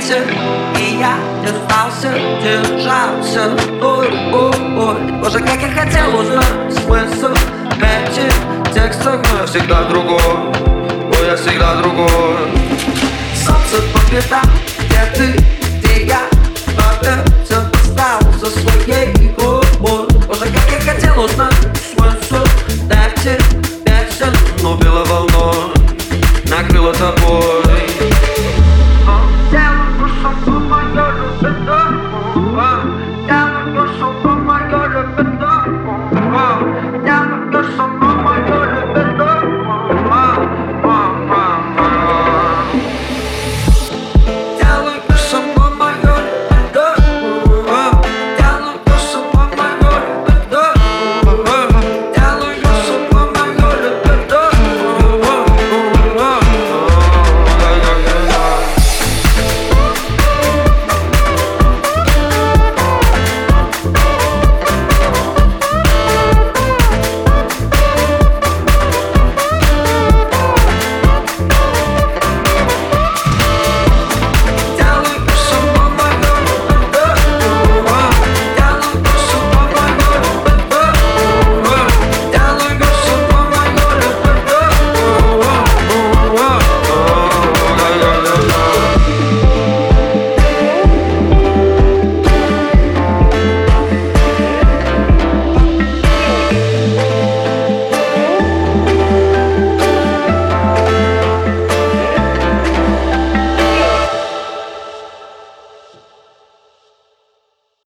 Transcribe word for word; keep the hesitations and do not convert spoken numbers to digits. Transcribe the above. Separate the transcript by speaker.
Speaker 1: песен, и я не сдался, держался. Ой, ой, ой, боже, как я хотел узнать смысл этих текстов, но я всегда другой, ой, я всегда другой. Солнце по пятам, где ты, где я, опять остался своей. Ой, ой, боже, как я хотел узнать смысл этих песен, но белой волной накрыло тобой.